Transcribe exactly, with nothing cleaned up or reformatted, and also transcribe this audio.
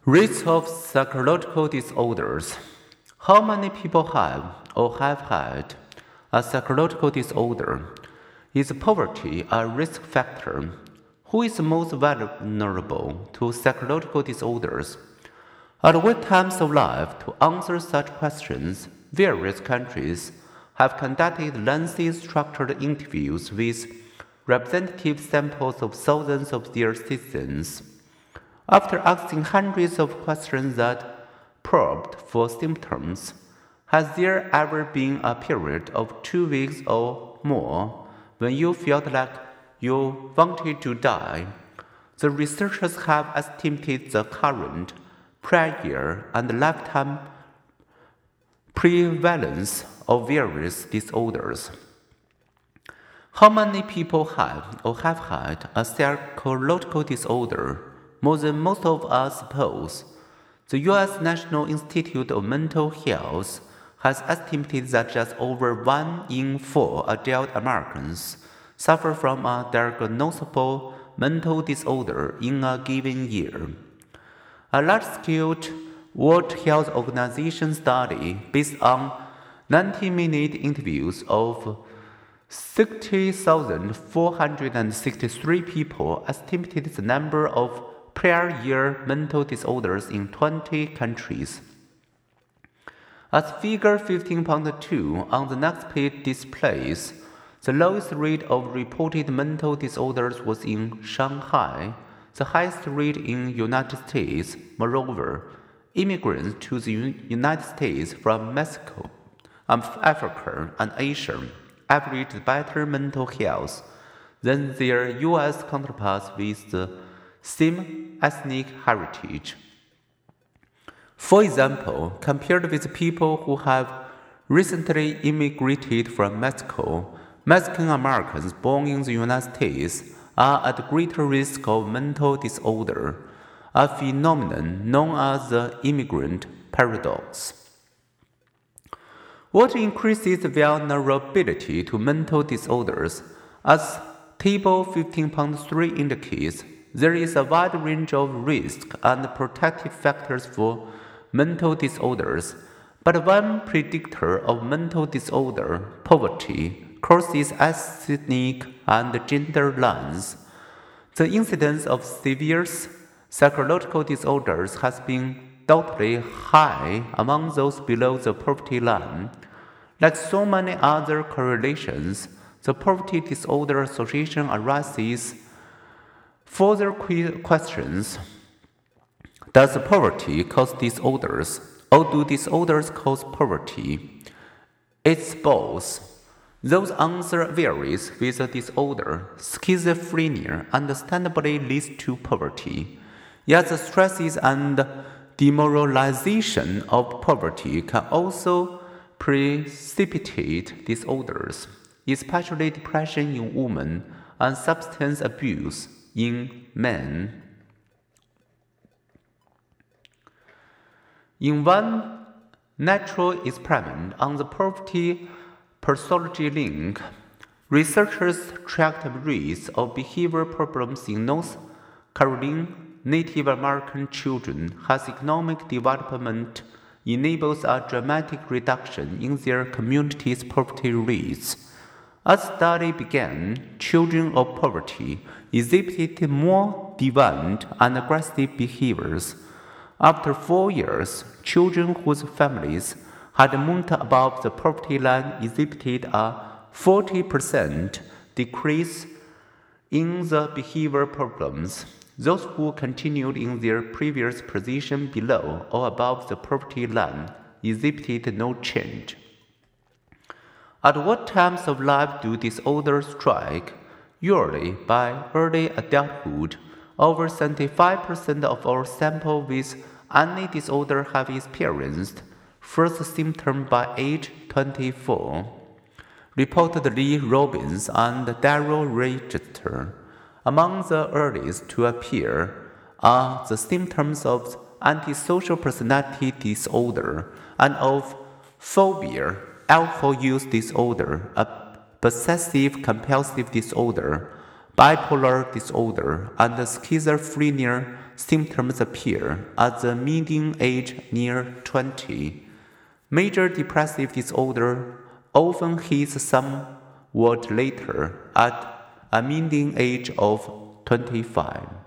Rates of psychological disorders. How many people have or have had a psychological disorder? Is poverty a risk factor? Who is most vulnerable to psychological disorders? At what times of life to answer such questions, various countries have conducted lengthy structured interviews with representative samples of thousands of their citizens. After asking hundreds of questions that probed for symptoms, has there ever been a period of two weeks or more when you felt like you wanted to die? The researchers have estimated the current, prior, and lifetime prevalence of various disorders. How many people have or have had a psychological disorder? More than most of us suppose. The U S National Institute of Mental Health has estimated that just over one in four adult Americans suffer from a diagnosable mental disorder in a given year. A large-scale World Health Organization study based on ninety-minute interviews of sixty thousand four hundred sixty-three people estimated the number of prior year mental disorders in twenty countries. As figure fifteen point two on the next page displays, the lowest rate of reported mental disorders was in Shanghai, the highest rate in the United States. Moreover, immigrants to the United States from Mexico, Africa, and Asia averaged better mental health than their U S counterparts with the same ethnic heritage. For example, compared with people who have recently immigrated from Mexico, Mexican Americans born in the United States are at greater risk of mental disorder, a phenomenon known as the immigrant paradox. What increases vulnerability to mental disorders? As Table fifteen point three indicates, there is a wide range of risk and protective factors for mental disorders, but one predictor of mental disorder, poverty, crosses ethnic and gender lines. The incidence of severe psychological disorders has been doubly high among those below the poverty line. Like so many other correlations, the Poverty Disorder Association arises further questions. Does poverty cause disorders, or do disorders cause poverty? It's both. Those answer varies with the disorder. Schizophrenia understandably leads to poverty, yet the stresses and demoralization of poverty can also precipitate disorders, especially depression in women and substance abuse in men. In one natural experiment on the poverty pathology link, researchers tracked rates of behavioral problems in North Carolina Native American children whose economic development enables a dramatic reduction in their community's poverty rates. As the study began, children of poverty exhibited more deviant and aggressive behaviors. After four years, children whose families had moved above the poverty line exhibited a forty percent decrease in the behavioral problems. Those who continued in their previous position below or above the poverty line exhibited no change. At what times of life do disorders strike? Usually by early adulthood. Over seventy-five percent of our sample with any disorder have experienced first symptom by age twenty-four. Reported Lee Robbins and Darrell Register. Among the earliest to appear are the symptoms of antisocial personality disorder and of phobia, alcohol use disorder, a possessive compulsive disorder, Bipolar disorder and schizophrenia symptoms appear at the median age near twenty. Major depressive disorder often hits somewhat later at a median age of twenty-five.